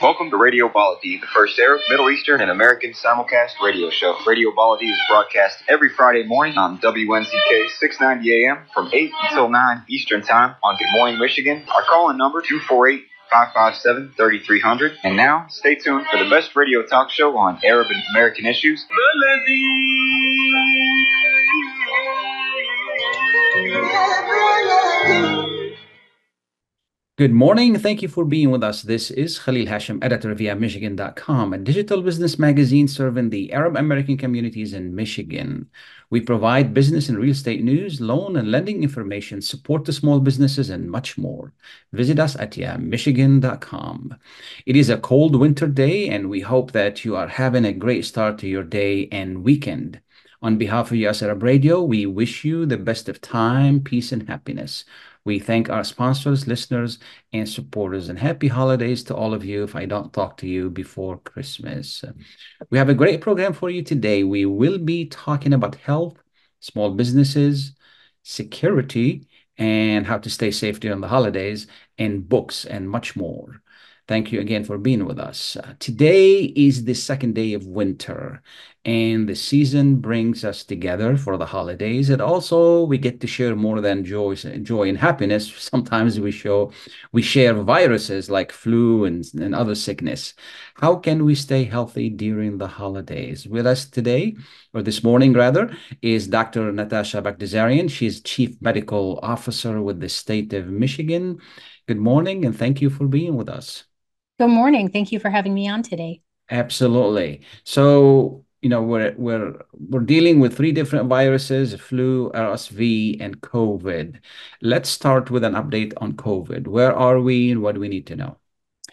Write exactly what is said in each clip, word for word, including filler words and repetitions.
Welcome to Radio Baladi, the first Arab, Middle Eastern, and American simulcast radio show. Radio Baladi is broadcast every Friday morning on W N Z K six ninety A M from eight until nine Eastern Time on Good Morning Michigan. Our call-in number two four eight, five five seven, three three zero zero. And now, stay tuned for the best radio talk show on Arab and American issues. Good morning. Thank you for being with us. This is Khalil Hashim, editor of yeah michigan dot com, a digital business magazine serving the Arab American communities in Michigan. We provide business and real estate news, loan and lending information, support to small businesses, and much more. Visit us at yeah michigan dot com. It is a cold winter day, and we hope that you are having a great start to your day and weekend. On behalf of U S Arab Radio, we wish you the best of time, peace, and happiness. We thank our sponsors, listeners, and supporters, and happy holidays to all of you if I don't talk to you before Christmas. We have a great program for you today. We will be talking about health, small businesses, security, and how to stay safe during the holidays, and books, and much more. Thank you again for being with us. Uh, today is the second day of winter, and the season brings us together for the holidays. And also, we get to share more than joy, joy and happiness. Sometimes we show, we share viruses like flu and, and other sickness. How can we stay healthy during the holidays? With us today, or this morning rather, is Doctor Natasha Baghdasaryan. She's Chief Medical Officer with the state of Michigan. Good morning, and thank you for being with us. Good morning. Thank you for having me on today. Absolutely. So, you know, we're we're we're dealing with three different viruses: flu, R S V, and COVID. Let's start with an update on COVID. Where are we, and what do we need to know?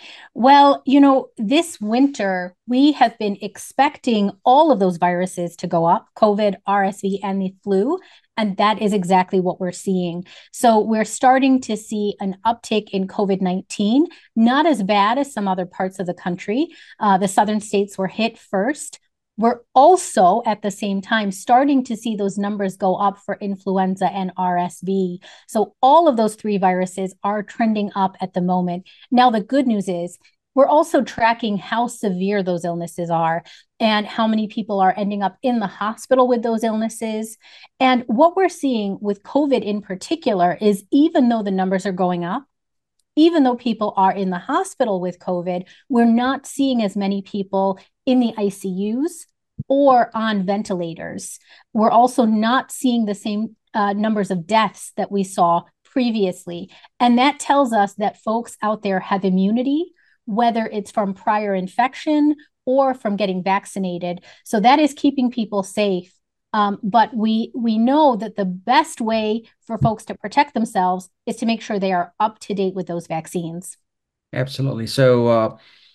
Well, you know, this winter, we have been expecting all of those viruses to go up, COVID, R S V, and the flu. And that is exactly what we're seeing. So we're starting to see an uptick in COVID nineteen, not as bad as some other parts of the country. Uh, the southern states were hit first. We're also at the same time starting to see those numbers go up for influenza and R S V. So all of those three viruses are trending up at the moment. Now, the good news is we're also tracking how severe those illnesses are and how many people are ending up in the hospital with those illnesses. And what we're seeing with COVID in particular is even though the numbers are going up, even though people are in the hospital with COVID, we're not seeing as many people in the I C Us or on ventilators. We're also not seeing the same uh, numbers of deaths that we saw previously. And that tells us that folks out there have immunity, whether it's from prior infection or from getting vaccinated. So that is keeping people safe. Um, but we we know that the best way for folks to protect themselves is to make sure they are up to date with those vaccines. Absolutely. So uh,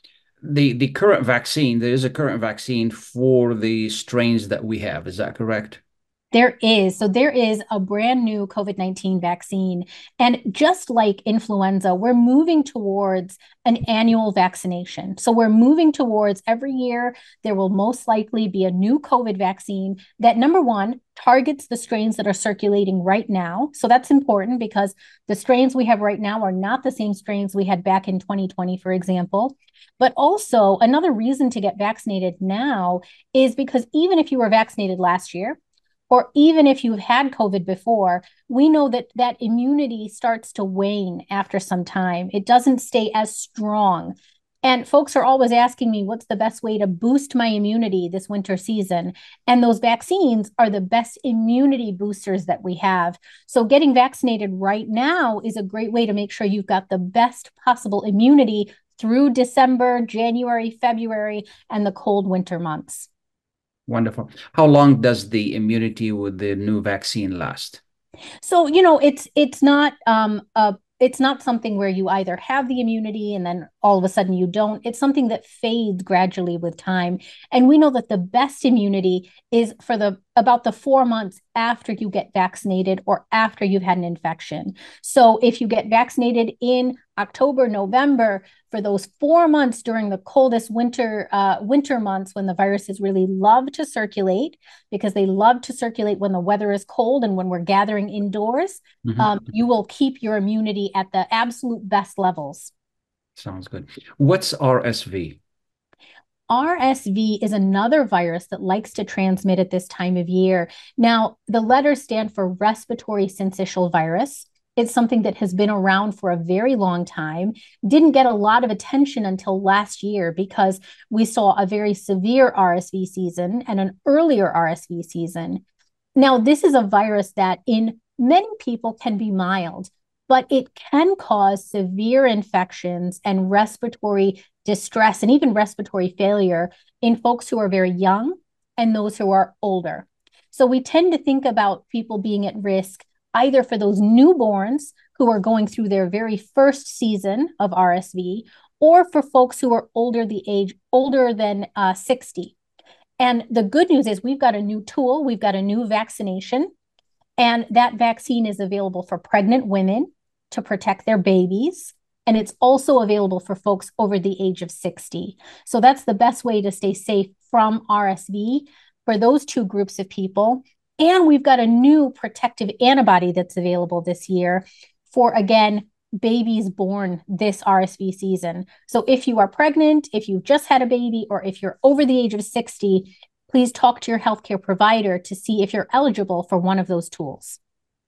the the current vaccine, there is a current vaccine for the strains that we have. Is that correct? There is. So there is a brand new COVID nineteen vaccine. And just like influenza, we're moving towards an annual vaccination. So we're moving towards every year, there will most likely be a new COVID vaccine that, number one, targets the strains that are circulating right now. So that's important because the strains we have right now are not the same strains we had back in twenty twenty, for example. But also, another reason to get vaccinated now is because even if you were vaccinated last year, or even if you've had COVID before, we know that that immunity starts to wane after some time. It doesn't stay as strong. And folks are always asking me, what's the best way to boost my immunity this winter season? And those vaccines are the best immunity boosters that we have. So getting vaccinated right now is a great way to make sure you've got the best possible immunity through December, January, February, and the cold winter months. Wonderful. How long does the immunity with the new vaccine last? So, you know, it's it's not um a it's not something where you either have the immunity and then all of a sudden you don't. It's something that fades gradually with time. And we know that the best immunity is for the about the four months after you get vaccinated or after you've had an infection. So if you get vaccinated in October, November, for those four months during the coldest winter uh, winter months when the viruses really love to circulate, because they love to circulate when the weather is cold and when we're gathering indoors, mm-hmm. um, you will keep your immunity at the absolute best levels. Sounds good. What's R S V? R S V is another virus that likes to transmit at this time of year. Now, the letters stand for respiratory syncytial virus. It's something that has been around for a very long time, didn't get a lot of attention until last year because we saw a very severe R S V season and an earlier R S V season. Now, this is a virus that in many people can be mild, but it can cause severe infections and respiratory distress and even respiratory failure in folks who are very young and those who are older. So we tend to think about people being at risk either for those newborns who are going through their very first season of R S V, or for folks who are older the age older than uh, sixty. And the good news is we've got a new tool, we've got a new vaccination, and that vaccine is available for pregnant women to protect their babies. And it's also available for folks over the age of sixty. So that's the best way to stay safe from R S V for those two groups of people. And we've got a new protective antibody that's available this year for, again, babies born this R S V season. So if you are pregnant, if you've just had a baby, or if you're over the age of sixty, please talk to your healthcare provider to see if you're eligible for one of those tools.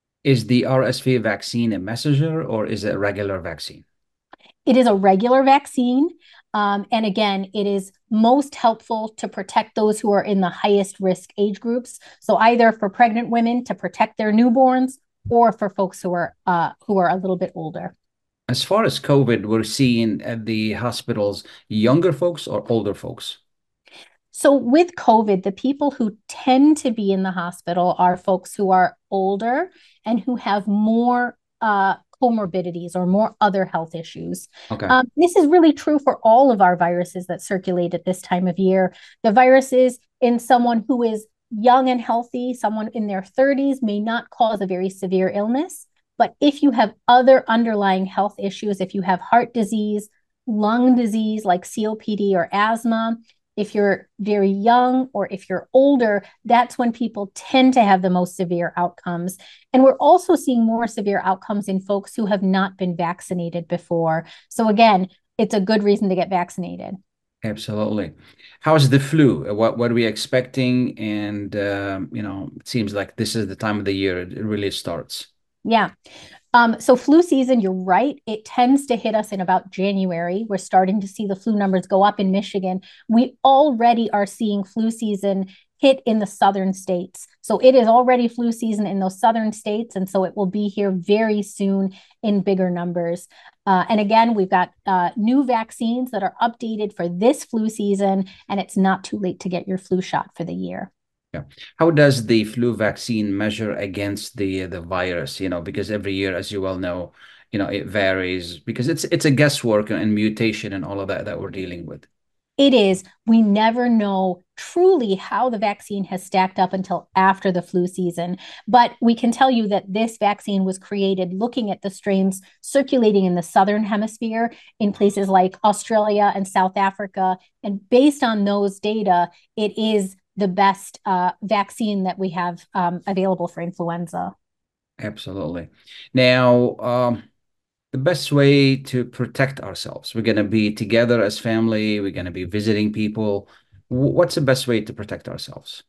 Is the R S V vaccine a messenger or is it a regular vaccine? It is a regular vaccine. Um, and again, it is most helpful to protect those who are in the highest risk age groups. So either for pregnant women to protect their newborns, or for folks who are uh, who are a little bit older. As far as COVID, we're seeing at the hospitals younger folks or older folks? So with COVID, the people who tend to be in the hospital are folks who are older and who have more uh, comorbidities or more other health issues. Okay. Um, this is really true for all of our viruses that circulate at this time of year. The viruses in someone who is young and healthy, someone in their thirties, may not cause a very severe illness. But if you have other underlying health issues, if you have heart disease, lung disease like C O P D or asthma, if you're very young or if you're older, that's when people tend to have the most severe outcomes. And we're also seeing more severe outcomes in folks who have not been vaccinated before. So again, it's a good reason to get vaccinated. Absolutely. How's the flu? What what are we expecting? And um, you know, it seems like this is the time of the year it really starts. Yeah. Um, so flu season, you're right. It tends to hit us in about January. We're starting to see the flu numbers go up in Michigan. We already are seeing flu season hit in the southern states. So it is already flu season in those southern states. And so it will be here very soon in bigger numbers. Uh, and again, we've got uh, new vaccines that are updated for this flu season, and it's not too late to get your flu shot for the year. Yeah. How does the flu vaccine measure against the the virus? You know, because every year, as you well know, you know, it varies because it's it's a guesswork and mutation and all of that that we're dealing with. It is. We never know truly how the vaccine has stacked up until after the flu season. But we can tell you that this vaccine was created looking at the strains circulating in the southern hemisphere in places like Australia and South Africa. And based on those data, it is the best uh, vaccine that we have um, available for influenza. Absolutely. Now, um, the best way to protect ourselves, we're going to be together as family, we're going to be visiting people. What's the best way to protect ourselves?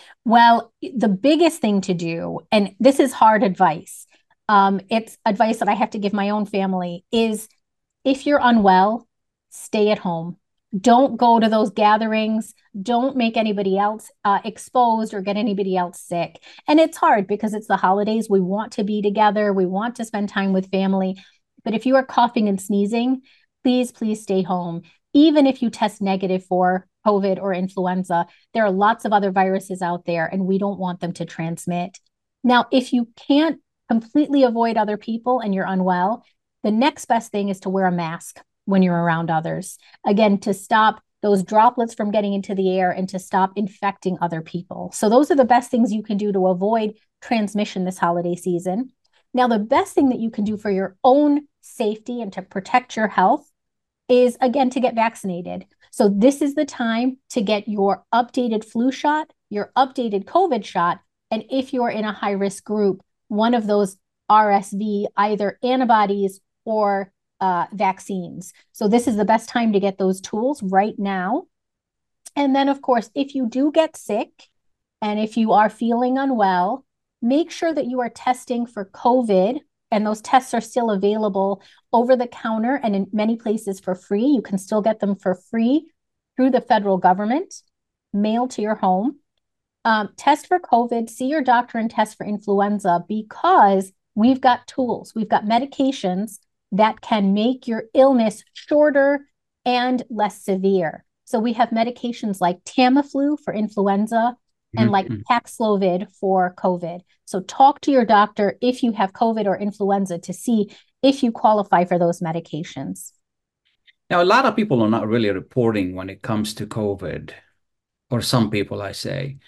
Well, the biggest thing to do, and this is hard advice, um, it's advice that I have to give my own family, is if you're unwell, stay at home. Don't go to those gatherings. Don't make anybody else uh, exposed or get anybody else sick. And it's hard because it's the holidays. We want to be together. We want to spend time with family. But if you are coughing and sneezing, please, please stay home. Even if you test negative for COVID or influenza, there are lots of other viruses out there, and we don't want them to transmit. Now, if you can't completely avoid other people and you're unwell, the next best thing is to wear a mask when you're around others. Again, to stop those droplets from getting into the air and to stop infecting other people. So those are the best things you can do to avoid transmission this holiday season. Now, the best thing that you can do for your own safety and to protect your health is, again, to get vaccinated. So this is the time to get your updated flu shot, your updated COVID shot, and if you're in a high-risk group, one of those R S V, either antibodies or uh, vaccines. So this is the best time to get those tools right now. And then, of course, if you do get sick and if you are feeling unwell, make sure that you are testing for COVID, and those tests are still available over the counter and in many places for free. You can still get them for free through the federal government, mailed to your home. Um, test for COVID, see your doctor, and test for influenza, because we've got tools, we've got medications that can make your illness shorter and less severe. So we have medications like Tamiflu for influenza and like Mhm. Paxlovid for COVID. So talk to your doctor if you have COVID or influenza to see if you qualify for those medications. Now, a lot of people are not really reporting when it comes to COVID, or some people, I say.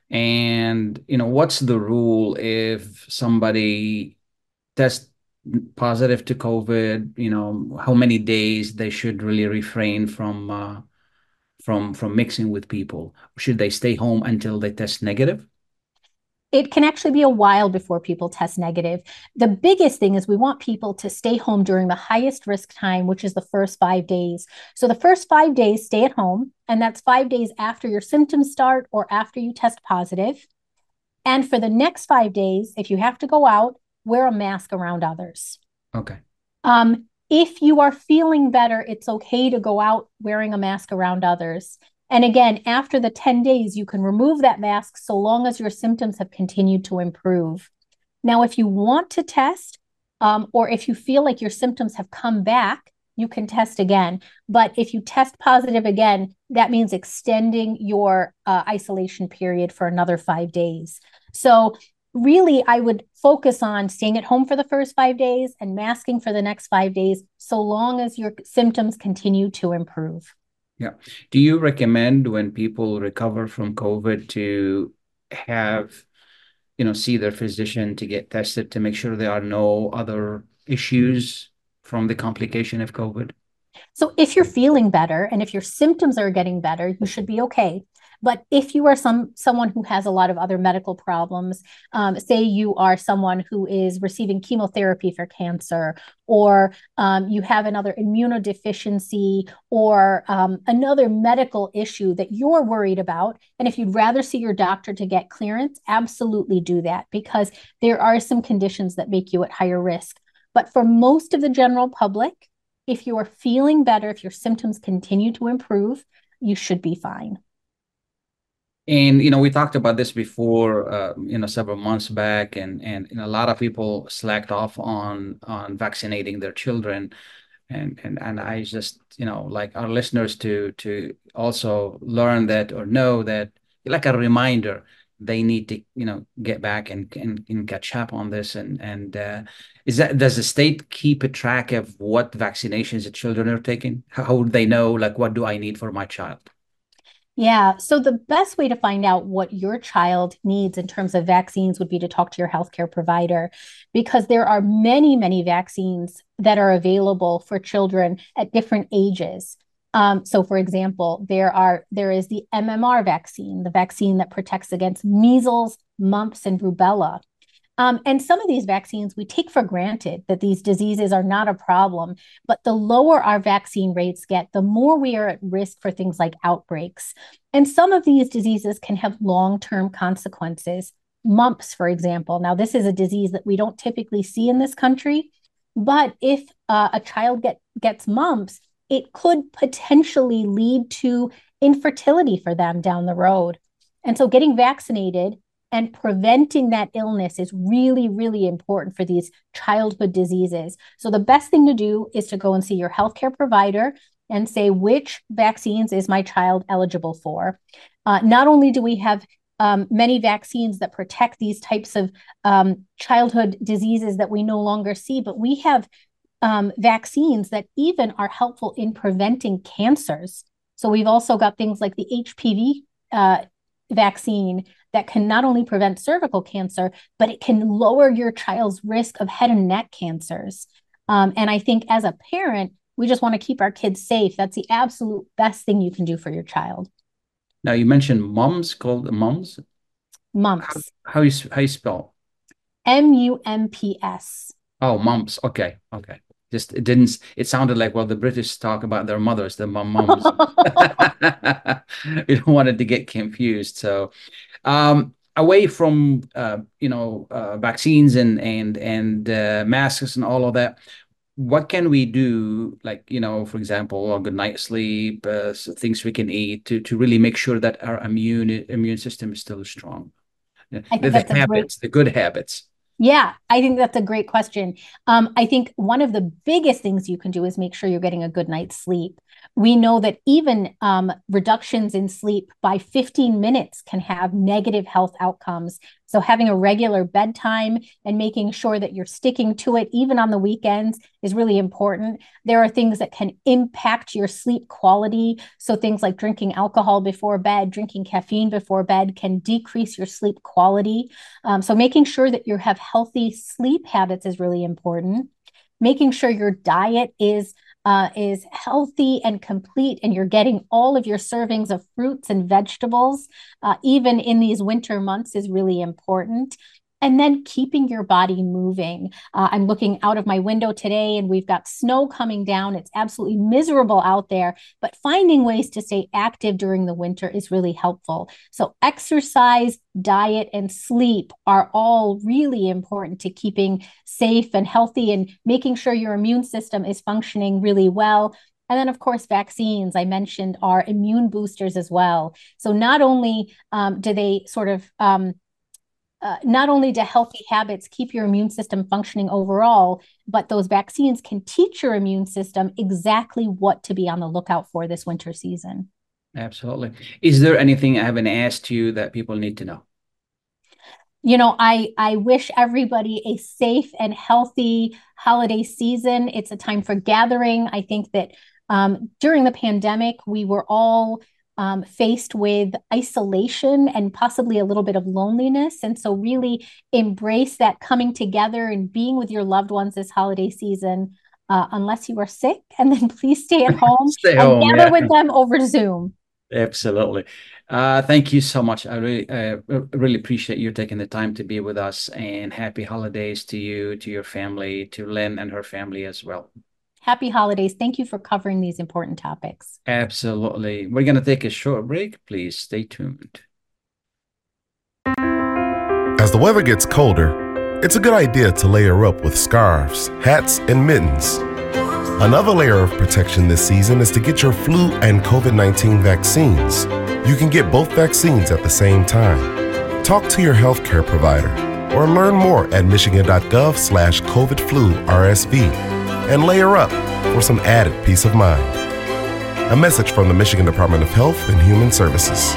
And, you know, what's the rule if somebody tests positive to COVID? You know, how many days they should really refrain from uh, from from mixing with people? Should they stay home until they test negative? It can actually be a while before people test negative. The biggest thing is we want people to stay home during the highest risk time, which is the first five days. So the first five days, stay at home, and that's five days after your symptoms start or after you test positive. And for the next five days, if you have to go out, wear a mask around others. Okay. Um, if you are feeling better, it's okay to go out wearing a mask around others. And again, after the ten days, you can remove that mask so long as your symptoms have continued to improve. Now, if you want to test, um, or if you feel like your symptoms have come back, you can test again. But if you test positive again, that means extending your uh, isolation period for another five days. So really, I would focus on staying at home for the first five days and masking for the next five days, so long as your symptoms continue to improve. Yeah. Do you recommend when people recover from COVID to have, you know, see their physician to get tested to make sure there are no other issues from the complication of COVID? So if you're feeling better and if your symptoms are getting better, you should be okay. But if you are some someone who has a lot of other medical problems, um, say you are someone who is receiving chemotherapy for cancer, or um, you have another immunodeficiency, or um, another medical issue that you're worried about, and if you'd rather see your doctor to get clearance, absolutely do that, because there are some conditions that make you at higher risk. But for most of the general public, if you are feeling better, if your symptoms continue to improve, you should be fine. And you know, we talked about this before, uh, you know, several months back, and and, and a lot of people slacked off on on vaccinating their children, and and and I just, you know, like our listeners to to also learn that, or know that, like a reminder, they need to, you know, get back and and, and catch up on this. And and uh, is that, does the state keep a track of what vaccinations the children are taking? How would they know, like, what do I need for my child? Yeah. So the best way to find out what your child needs in terms of vaccines would be to talk to your healthcare provider, because there are many, many vaccines that are available for children at different ages. Um, so, for example, there are there is the M M R vaccine, the vaccine that protects against measles, mumps, and rubella. Um, and some of these vaccines, we take for granted that these diseases are not a problem. But the lower our vaccine rates get, the more we are at risk for things like outbreaks. And some of these diseases can have long-term consequences. Mumps, for example. Now, this is a disease that we don't typically see in this country. But if uh, a child get, gets mumps, it could potentially lead to infertility for them down the road. And so getting vaccinated and preventing that illness is really, really important for these childhood diseases. So the best thing to do is to go and see your healthcare provider and say, which vaccines is my child eligible for? Uh, not only do we have um, many vaccines that protect these types of um, childhood diseases that we no longer see, but we have um, vaccines that even are helpful in preventing cancers. So we've also got things like the H P V uh, vaccine that can not only prevent cervical cancer, but it can lower your child's risk of head and neck cancers. Um, and I think as a parent, we just want to keep our kids safe. That's the absolute best thing you can do for your child. Now, you mentioned mums, called mums. Mumps. How, how you how you spell? M U M P S. Oh, mumps. Okay, okay. Just it didn't. It sounded like, well, the British talk about their mothers, the mum mums. You don't want it to get confused. So, um, away from uh, you know uh, vaccines and and and uh, masks and all of that, what can we do? Like, you know, for example, a good night's sleep, uh, so things we can eat to to really make sure that our immune immune system is still strong. The, I think the that's a great habits, the good habits. Yeah, I think that's a great question. Um, I think one of the biggest things you can do is make sure you're getting a good night's sleep. We know that even um, reductions in sleep by fifteen minutes can have negative health outcomes. So having a regular bedtime and making sure that you're sticking to it, even on the weekends, is really important. There are things that can impact your sleep quality. So things like drinking alcohol before bed, drinking caffeine before bed can decrease your sleep quality. Um, so making sure that you have healthy sleep habits is really important. Making sure your diet is uh, is healthy and complete, and you're getting all of your servings of fruits and vegetables, uh, even in these winter months, is really important. And then keeping your body moving. Uh, I'm looking out of my window today and we've got snow coming down. It's absolutely miserable out there, but finding ways to stay active during the winter is really helpful. So exercise, diet, and sleep are all really important to keeping safe and healthy and making sure your immune system is functioning really well. And then, of course, vaccines, I mentioned, are immune boosters as well. So not only um, do they sort of um, Uh, not only do healthy habits keep your immune system functioning overall, but those vaccines can teach your immune system exactly what to be on the lookout for this winter season. Absolutely. Is there anything I haven't asked you that people need to know? You know, I, I wish everybody a safe and healthy holiday season. It's a time for gathering. I think that um, during the pandemic, we were all Um, faced with isolation and possibly a little bit of loneliness. And so really embrace that coming together and being with your loved ones this holiday season, uh, unless you are sick, and then please stay at home Stay and home, gather yeah. with them over Zoom. Absolutely. Uh, thank you so much. I really, uh, really appreciate you taking the time to be with us, and happy holidays to you, to your family, to Lynn and her family as well. Happy holidays. Thank you for covering these important topics. Absolutely. We're going to take a short break. Please stay tuned. As the weather gets colder, it's a good idea to layer up with scarves, hats, and mittens. Another layer of protection this season is to get your flu and COVID nineteen vaccines. You can get both vaccines at the same time. Talk to your healthcare provider or learn more at michigan.gov slash COVID flu RSV and layer up for some added peace of mind. A message from the Michigan Department of Health and Human Services.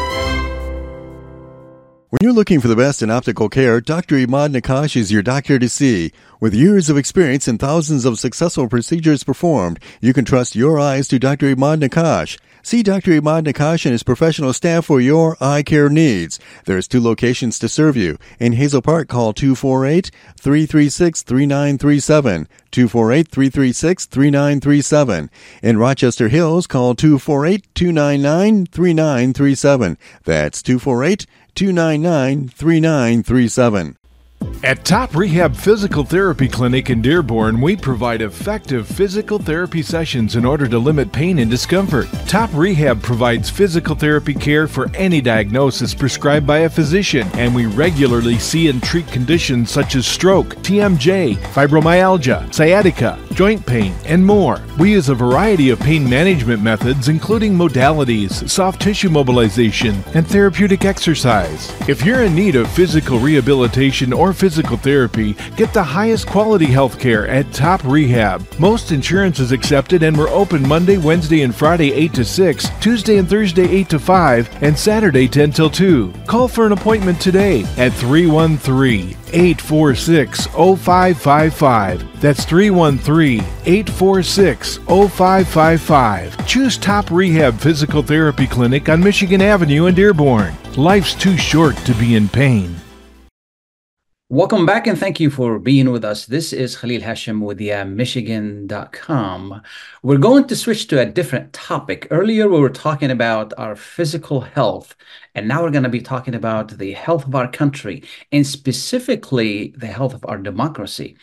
When you're looking for the best in optical care, Doctor Imad Nakash is your doctor to see. With years of experience and thousands of successful procedures performed, you can trust your eyes to Doctor Imad Nakash. See Doctor Imad Nakash and his professional staff for your eye care needs. There's two locations to serve you. In Hazel Park, call two four eight, three three six, three nine three seven, two four eight, three three six, three nine three seven. In Rochester Hills, call two four eight, two nine nine, three nine three seven. That's two four eight, two nine nine, three nine three seven. At Top Rehab Physical Therapy Clinic in Dearborn, we provide effective physical therapy sessions in order to limit pain and discomfort. Top Rehab provides physical therapy care for any diagnosis prescribed by a physician, and we regularly see and treat conditions such as stroke, T M J, fibromyalgia, sciatica, joint pain, and more. We use a variety of pain management methods, including modalities, soft tissue mobilization, and therapeutic exercise. If you're in need of physical rehabilitation or physical therapy, get the highest quality health care at Top Rehab. Most insurance is accepted, and we're open Monday, Wednesday, and Friday eight to six, Tuesday and Thursday eight to five, and Saturday ten till two. Call for an appointment today at three one three, eight four six, zero five five five. That's three one three, eight four six, zero five five five. Choose Top Rehab Physical Therapy Clinic on Michigan Avenue in Dearborn. Life's too short to be in pain. Welcome back, and thank you for being with us. This is Khalil Hashim with yeah, Michigan dot com. We're going to switch to a different topic. Earlier, we were talking about our physical health, and now we're going to be talking about the health of our country, and specifically the health of our democracy.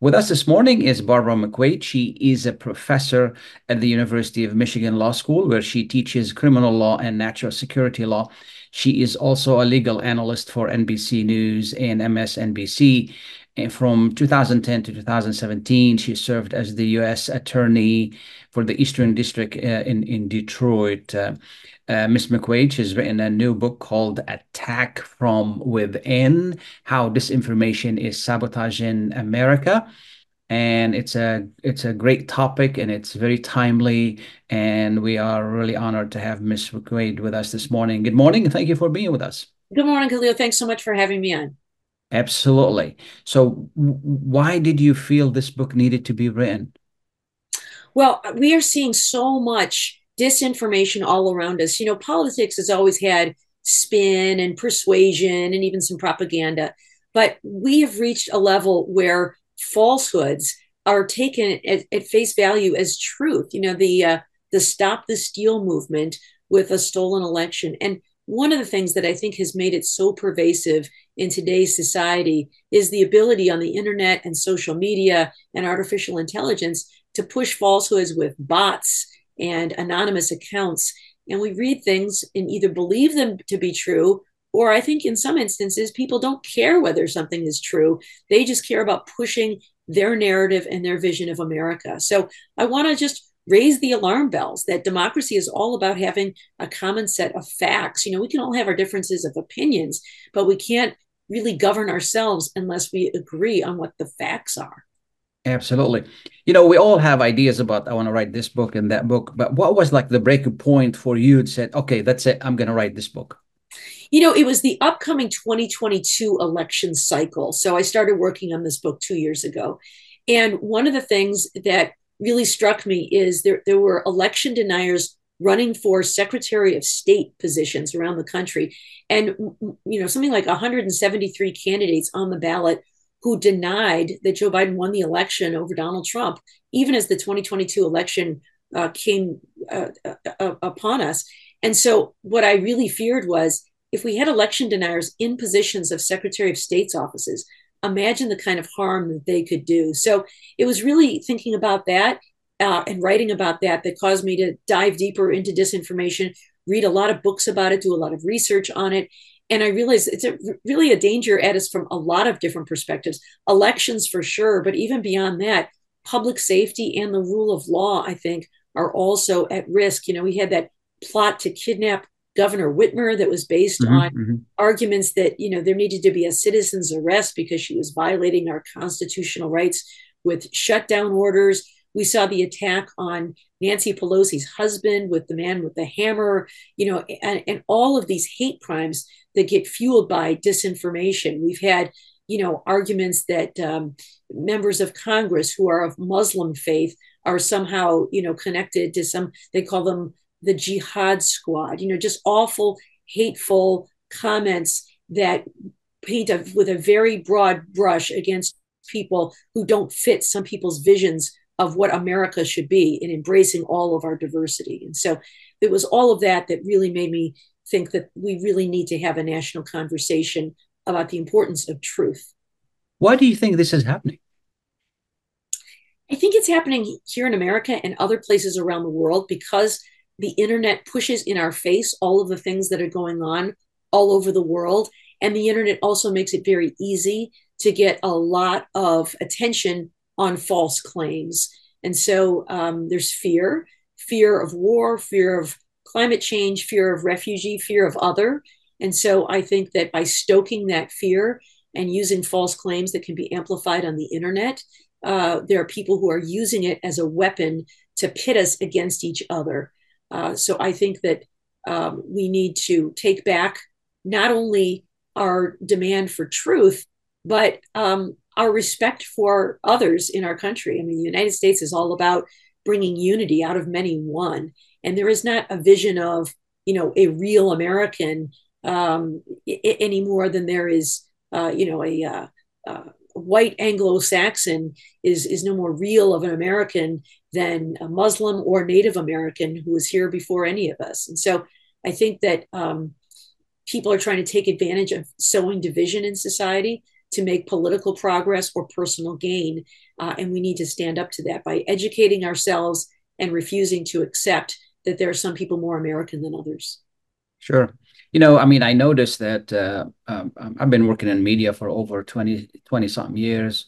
With us this morning is Barbara McQuaid. She is a professor at the University of Michigan Law School, where she teaches criminal law and national security law. She is also a legal analyst for N B C News and M S N B C. And from two thousand ten to two thousand seventeen, she served as the U S Attorney for the Eastern District uh, in, in Detroit. Uh, uh, Miz McQuaid has written a new book called Attack from Within: How Disinformation is Sabotaging America. And it's a it's a great topic, and it's very timely. And we are really honored to have Miz McQuaid with us this morning. Good morning, and thank you for being with us. Good morning, Khalil. Thanks so much for having me on. Absolutely. So w- why did you feel this book needed to be written? Well, we are seeing so much disinformation all around us. You know, politics has always had spin and persuasion and even some propaganda, but we have reached a level where falsehoods are taken at, at face value as truth. You know, the uh, the Stop the Steal movement with a stolen election. And one of the things that I think has made it so pervasive in today's society is the ability on the internet and social media and artificial intelligence to push falsehoods with bots and anonymous accounts. And we read things and either believe them to be true, or I think in some instances, people don't care whether something is true. They just care about pushing their narrative and their vision of America. So I want to just raise the alarm bells that democracy is all about having a common set of facts. You know, we can all have our differences of opinions, but we can't really govern ourselves unless we agree on what the facts are. Absolutely. You know, we all have ideas about, I want to write this book and that book, but what was like the breaking point for you that said, okay, that's it, I'm going to write this book? You know, it was the upcoming twenty twenty-two election cycle. So I started working on this book two years ago. And one of the things that really struck me is there, there were election deniers running for Secretary of State positions around the country. And, you know, something like one hundred seventy-three candidates on the ballot who denied that Joe Biden won the election over Donald Trump, even as the twenty twenty-two election uh, came uh, uh, upon us. And so what I really feared was if we had election deniers in positions of Secretary of State's offices, imagine the kind of harm that they could do. So it was really thinking about that uh, and writing about that that caused me to dive deeper into disinformation, read a lot of books about it, do a lot of research on it. And I realized it's a, really a danger at us from a lot of different perspectives. Elections for sure, but even beyond that, public safety and the rule of law, I think, are also at risk. You know, we had that plot to kidnap Governor Whitmer that was based mm-hmm, on mm-hmm. arguments that, you know, there needed to be a citizen's arrest because she was violating our constitutional rights with shutdown orders. We saw the attack on Nancy Pelosi's husband with the man with the hammer, you know, and, and all of these hate crimes that get fueled by disinformation. We've had, you know, arguments that um, members of Congress who are of Muslim faith are somehow, you know, connected to some, they call them the jihad squad, you know, just awful, hateful comments that paint a, with a very broad brush against people who don't fit some people's visions of what America should be in embracing all of our diversity. And so it was all of that that really made me think that we really need to have a national conversation about the importance of truth. Why do you think this is happening? I think it's happening here in America and other places around the world because the internet pushes in our face all of the things that are going on all over the world. And the internet also makes it very easy to get a lot of attention on false claims. And so um, there's fear, fear of war, fear of climate change, fear of refugee, fear of other. And so I think that by stoking that fear and using false claims that can be amplified on the internet, uh, there are people who are using it as a weapon to pit us against each other. Uh, so I think that um, we need to take back not only our demand for truth, but um, our respect for others in our country. I mean, the United States is all about bringing unity out of many one. And there is not a vision of, you know, a real American um, I- any more than there is, uh, you know, a uh, uh, white Anglo-Saxon is, is no more real of an American than a Muslim or Native American who was here before any of us. And so I think that um, people are trying to take advantage of sowing division in society to make political progress or personal gain. Uh, and we need to stand up to that by educating ourselves and refusing to accept that there are some people more American than others. Sure. You know, I mean, I noticed that uh, um, I've been working in media for over twenty, twenty something years,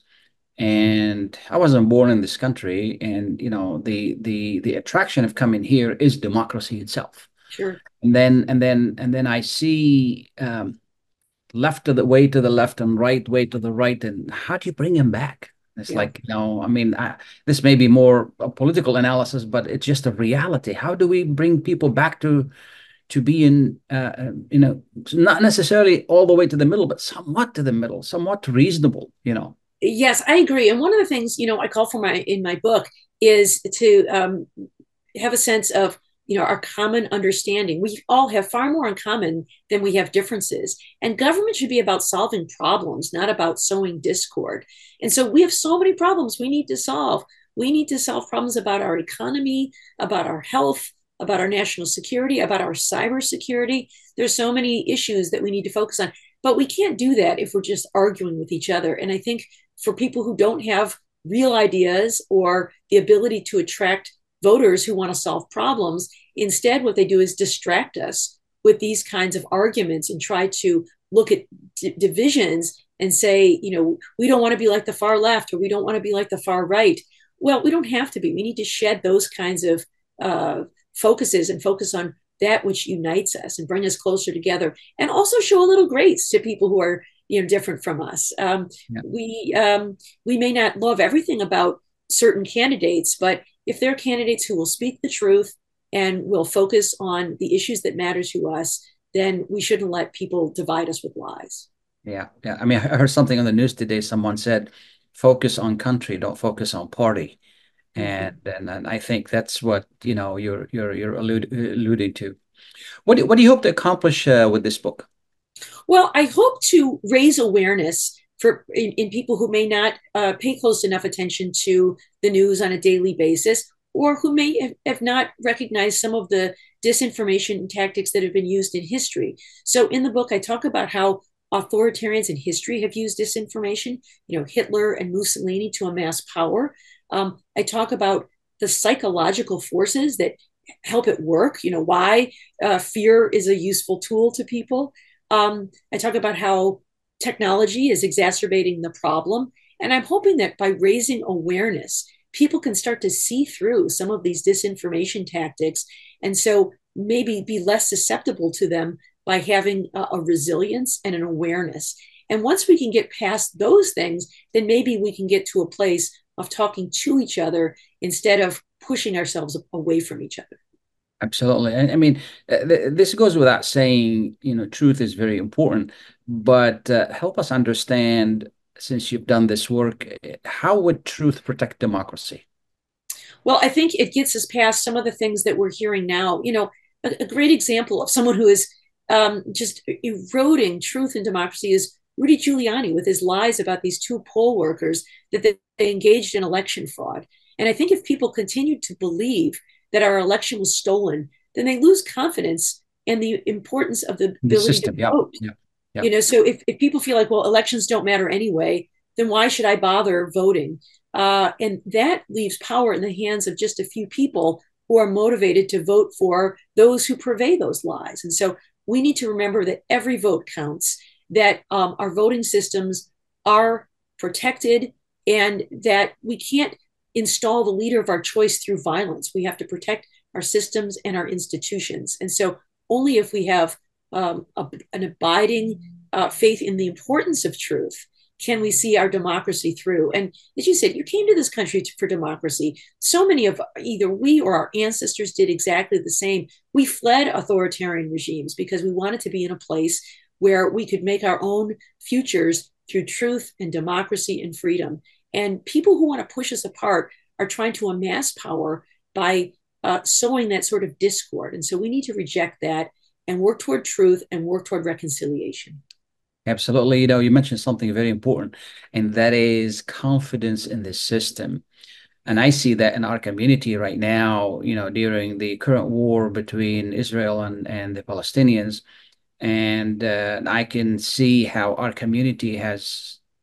and I wasn't born in this country. And, you know, the the the attraction of coming here is democracy itself. Sure. And then and then and then I see um, left to the way to the left and right way to the right. And how do you bring him back? It's Yeah. like, you know, I mean, I, this may be more a political analysis, but it's just a reality. How do we bring people back to to be in, uh, uh, you know, not necessarily all the way to the middle, but somewhat to the middle, somewhat reasonable, you know? Yes, I agree. And one of the things, you know, I call for my in my book is to um, have a sense of, you know, our common understanding. We all have far more in common than we have differences. And government should be about solving problems, not about sowing discord. And so we have so many problems we need to solve. We need to solve problems about our economy, about our health, about our national security, about our cybersecurity. There's so many issues that we need to focus on. But we can't do that if we're just arguing with each other. And I think for people who don't have real ideas or the ability to attract voters who want to solve problems, instead, what they do is distract us with these kinds of arguments and try to look at d- divisions and say, you know, we don't want to be like the far left or we don't want to be like the far right. Well, we don't have to be. We need to shed those kinds of uh, focuses and focus on that which unites us and bring us closer together, and also show a little grace to people who are, you know, different from us. Um, Yeah. We um, we may not love everything about certain candidates, but if they're candidates who will speak the truth and will focus on the issues that matter to us, then we shouldn't let people divide us with lies. Yeah. Yeah. I mean, I heard something on the news today. Someone said, focus on country, don't focus on party. And, Mhm. and and I think that's what, you know, you're you're you're allude, alluding to. What do, what do you hope to accomplish uh, with this book? Well, I hope to raise awareness for in, in people who may not uh, pay close enough attention to the news on a daily basis, or who may have, have not recognized some of the disinformation tactics that have been used in history. So, in the book, I talk about how authoritarians in history have used disinformation. You know, Hitler and Mussolini to amass power. Um, I talk about the psychological forces that help it work. You know, why uh, fear is a useful tool to people. Um, I talk about how technology is exacerbating the problem. And I'm hoping that by raising awareness, people can start to see through some of these disinformation tactics. And so maybe be less susceptible to them by having a, a resilience and an awareness. And once we can get past those things, then maybe we can get to a place of talking to each other instead of pushing ourselves away from each other. Absolutely. I, I mean, uh, th this goes without saying, you know, truth is very important, but uh, help us understand, since you've done this work, uh, how would truth protect democracy? Well, I think it gets us past some of the things that we're hearing now. You know, a, a great example of someone who is um, just eroding truth and democracy is Rudy Giuliani with his lies about these two poll workers that they, they engaged in election fraud. And I think if people continue to believe that our election was stolen, then they lose confidence in the importance of the The ability to system. Yeah. vote. Yeah. Yeah. You know, so if, if people feel like, well, elections don't matter anyway, then why should I bother voting? Uh, and that leaves power in the hands of just a few people who are motivated to vote for those who purvey those lies. And so we need to remember that every vote counts, that um, our voting systems are protected, and that we can't install the leader of our choice through violence. We have to protect our systems and our institutions. And so only if we have um, a, an abiding uh, faith in the importance of truth can we see our democracy through. And as you said, you came to this country to, for democracy. So many of either we or our ancestors did exactly the same. We fled authoritarian regimes because we wanted to be in a place where we could make our own futures through truth and democracy and freedom. And people who want to push us apart are trying to amass power by uh, sowing that sort of discord. And so we need to reject that and work toward truth and work toward reconciliation. Absolutely. You know, you mentioned something very important, and that is confidence in the system. And I see that in our community right now, you know, during the current war between Israel and, and the Palestinians. And uh, I can see how our community has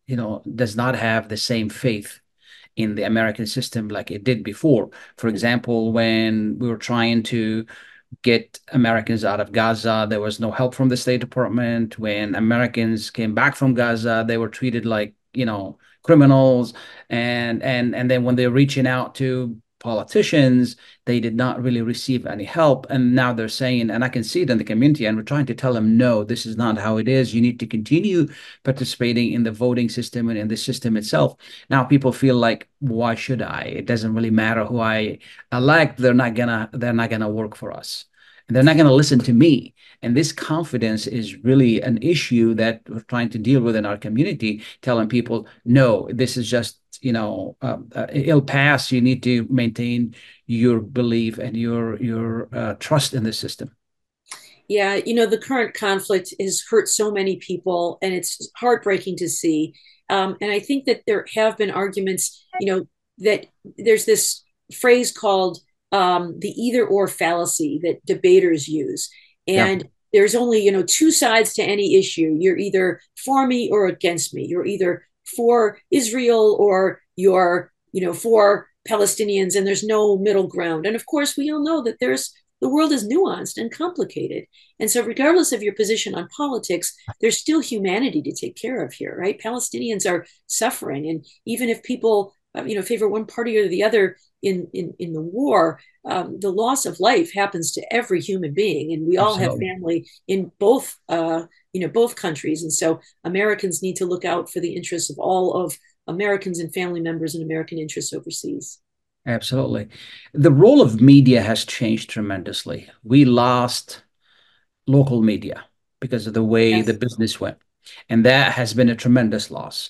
you know, does not have the same faith in the American system like it did before. For example, when we were trying to get Americans out of Gaza, there was no help from the State Department. When Americans came back from Gaza, they were treated like, you know, criminals. And and and then when they're reaching out to politicians, they did not really receive any help. And now they're saying, and I can see it in the community, and we're trying to tell them, no, this is not how it is. You need to continue participating in the voting system and in the system itself. Now people feel like, why should I? It doesn't really matter who I elect. They're not gonna, they're not gonna work for us. And they're not going to listen to me. And this confidence is really an issue that we're trying to deal with in our community, telling people, no, this is just, you know, uh, uh, it'll pass. You need to maintain your belief and your your uh, trust in the system. Yeah, you know, the current conflict has hurt so many people, and it's heartbreaking to see. Um, and I think that there have been arguments, you know, that there's this phrase called um, the either or fallacy that debaters use. And yeah. There's only, you know, two sides to any issue. You're either for me or against me. You're either for Israel or you're, you know, for Palestinians, and there's no middle ground. And of course, we all know that there's the world is nuanced and complicated. And so regardless of your position on politics, there's still humanity to take care of here, right? Palestinians are suffering. And even if people, uh, you know, favor one party or the other in, in, in the war, um, the loss of life happens to every human being. And we all Absolutely. Have family in both, uh, you know, both countries. And so Americans need to look out for the interests of all of Americans and family members and American interests overseas. Absolutely. The role of media has changed tremendously. We lost local media because of the way yes. the business went. And that has been a tremendous loss.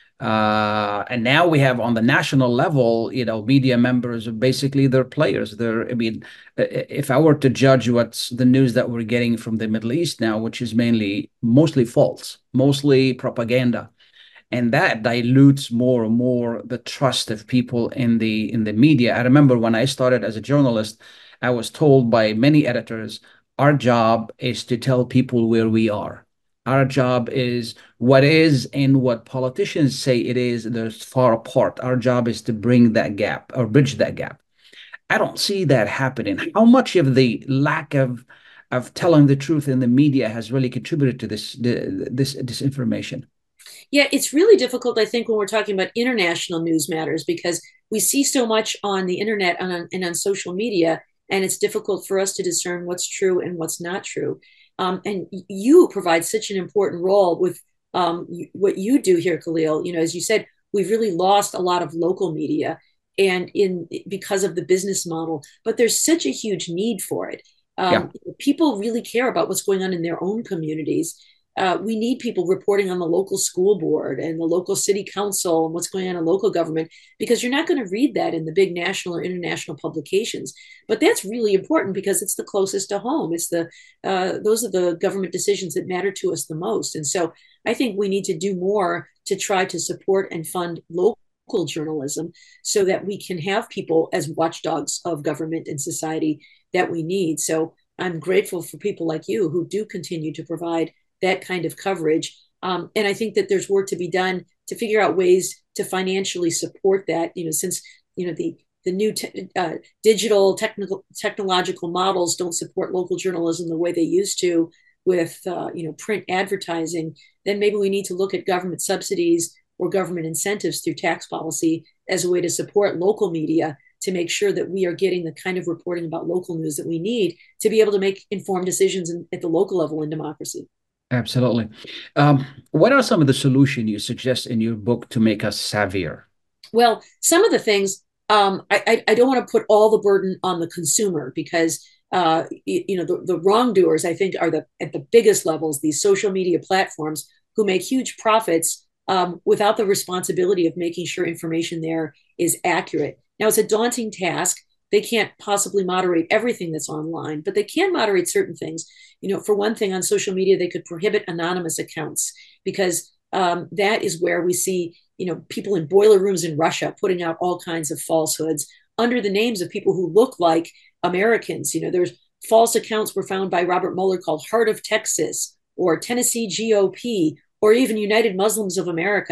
Uh, and now we have on the national level, you know, media members are basically they're players. They're, I mean, if I were to judge what's the news that we're getting from the Middle East now, which is mainly mostly false, mostly propaganda. And that dilutes more and more the trust of people in the in the media. I remember when I started as a journalist, I was told by many editors, our job is to tell people where we are. Our job is what is and what politicians say it is, they're far apart. Our job is to bring that gap or bridge that gap. I don't see that happening. How much of the lack of of telling the truth in the media has really contributed to this this disinformation? Yeah, it's really difficult, I think, when we're talking about international news matters, because we see so much on the internet and on, and on social media, and it's difficult for us to discern what's true and what's not true. Um, and you provide such an important role with um, you, what you do here, Khalil. You know, as you said, we've really lost a lot of local media, and in because of the business model. But there's such a huge need for it. Um, yeah. People really care about what's going on in their own communities. Uh, we need people reporting on the local school board and the local city council and what's going on in local government, because you're not going to read that in the big national or international publications. But that's really important because it's the closest to home. It's the uh, those are the government decisions that matter to us the most. And so I think we need to do more to try to support and fund local journalism so that we can have people as watchdogs of government and society that we need. So I'm grateful for people like you who do continue to provide that kind of coverage. Um, and I think that there's work to be done to figure out ways to financially support that, you know, since, you know, the, the new te- uh, digital technical technological models don't support local journalism the way they used to with, uh, you know, print advertising, then maybe we need to look at government subsidies or government incentives through tax policy as a way to support local media to make sure that we are getting the kind of reporting about local news that we need to be able to make informed decisions in, at the local level in democracy. Absolutely. Um, what are some of the solutions you suggest in your book to make us savvier? Well, some of the things, um, I, I, I don't want to put all the burden on the consumer because, uh, you, you know, the, the wrongdoers, I think, are the at the biggest levels, these social media platforms who make huge profits um, without the responsibility of making sure information there is accurate. Now, it's a daunting task. They can't possibly moderate everything that's online, but they can moderate certain things. You know, for one thing, on social media, they could prohibit anonymous accounts because um, that is where we see, you know, people in boiler rooms in Russia putting out all kinds of falsehoods under the names of people who look like Americans. You know, there's false accounts were found by Robert Mueller called Heart of Texas or Tennessee G O P or even United Muslims of America.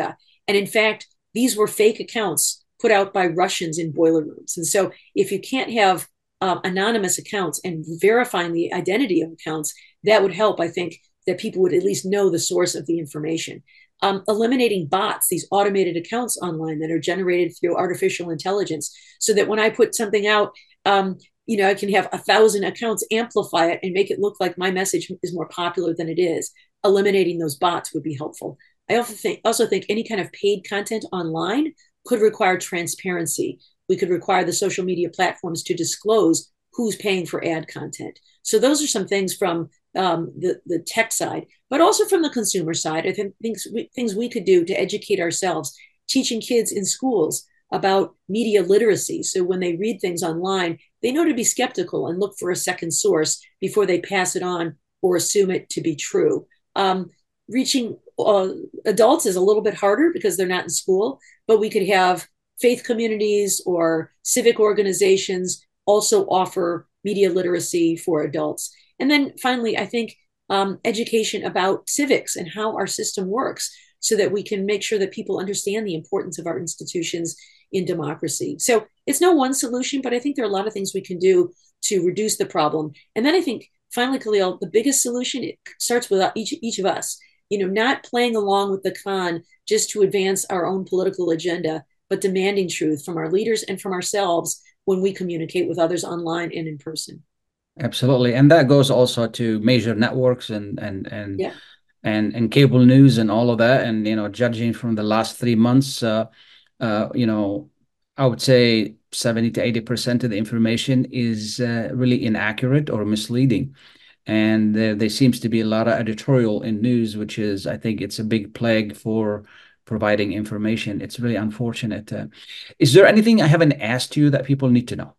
And in fact, these were fake accounts put out by Russians in boiler rooms. And so if you can't have uh, anonymous accounts and verifying the identity of accounts, that would help, I think, that people would at least know the source of the information. Um, eliminating bots, these automated accounts online that are generated through artificial intelligence, so that when I put something out, um, you know, I can have a thousand accounts amplify it and make it look like my message is more popular than it is. Eliminating those bots would be helpful. I also think, also think any kind of paid content online could require transparency. We could require the social media platforms to disclose who's paying for ad content. So those are some things from um, the, the tech side, but also from the consumer side. I think things we, things we could do to educate ourselves, teaching kids in schools about media literacy. So when they read things online, they know to be skeptical and look for a second source before they pass it on or assume it to be true. Um, reaching uh, adults is a little bit harder because they're not in school, but we could have faith communities or civic organizations also offer media literacy for adults. And then finally, I think um, education about civics and how our system works, so that we can make sure that people understand the importance of our institutions in democracy. So it's no one solution, but I think there are a lot of things we can do to reduce the problem. And then I think finally, Khalil, the biggest solution, it starts with each, each of us, you know, not playing along with the con just to advance our own political agenda, but demanding truth from our leaders and from ourselves when we communicate with others online and in person. Absolutely. And that goes also to major networks and and and yeah. and, and cable news and all of that. And, you know, judging from the last three months, uh, uh, you know, I would say seventy to eighty percent of the information is uh, really inaccurate or misleading. And there, there seems to be a lot of editorial in news, which is, I think it's a big plague for providing information. It's really unfortunate. Uh, is there anything I haven't asked you that people need to know?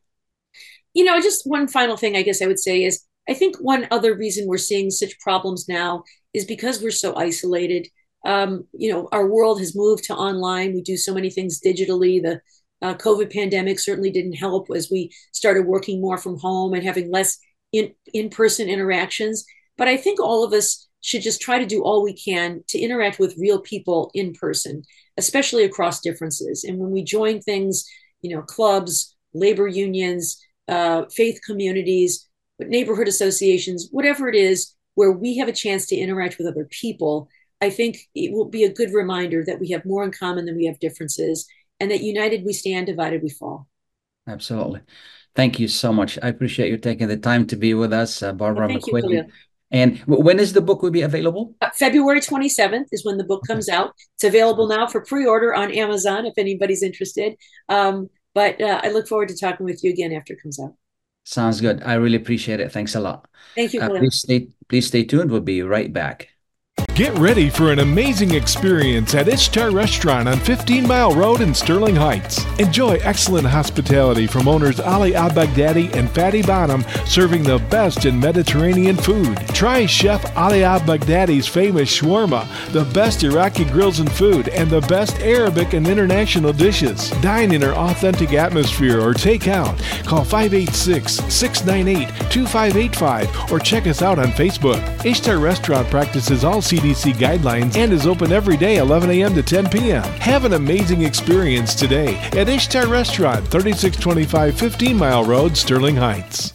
You know, just one final thing I guess I would say is, I think one other reason we're seeing such problems now is because we're so isolated. Um, you know, our world has moved to online. We do so many things digitally. The uh, COVID pandemic certainly didn't help as we started working more from home and having less in, in-person interactions. But I think all of us should just try to do all we can to interact with real people in person, especially across differences. And when we join things, you know, clubs, labor unions, uh, faith communities, neighborhood associations, whatever it is, where we have a chance to interact with other people, I think it will be a good reminder that we have more in common than we have differences, and that united we stand, divided we fall. Absolutely. Thank you so much. I appreciate you taking the time to be with us, uh, Barbara well, McQueen. You, and when is the book will be available? Uh, February twenty-seventh is when the book comes out. It's available now for pre-order on Amazon if anybody's interested. Um, but uh, I look forward to talking with you again after it comes out. Sounds good. I really appreciate it. Thanks a lot. Thank you. Uh, please stay, please stay tuned. We'll be right back. Get ready for an amazing experience at Ishtar Restaurant on fifteen mile Road in Sterling Heights. Enjoy excellent hospitality from owners Ali Al-Baghdadi and Fatty Bonham, serving the best in Mediterranean food. Try Chef Ali Al-Baghdadi's famous shawarma, the best Iraqi grills and food, and the best Arabic and international dishes. Dine in our authentic atmosphere or take out. Call five eight six, six nine eight, two five eight five or check us out on Facebook. Ishtar Restaurant practices all C D C guidelines and is open every day eleven a m to ten p m Have an amazing experience today at Ishtar Restaurant, thirty-six twenty-five fifteen mile Road, Sterling Heights.